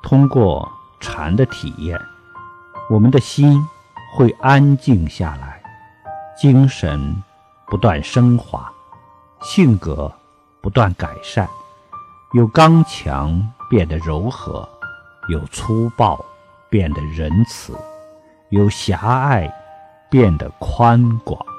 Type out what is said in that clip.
通过禅的体验，我们的心会安静下来，精神不断升华，性格不断改善，由刚强变得柔和，由粗暴变得仁慈，由狭隘变得宽广。